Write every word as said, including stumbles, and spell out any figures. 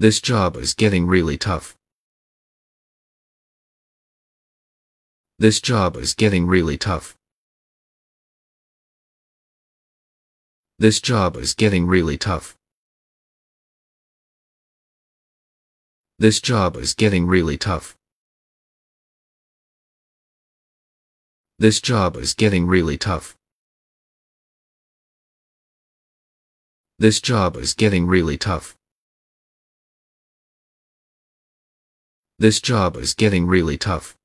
This job is getting really tough. This job is getting really tough. This job is getting really tough. This job is getting really tough. This job is getting really tough. This job is getting really tough. This job is getting really tough.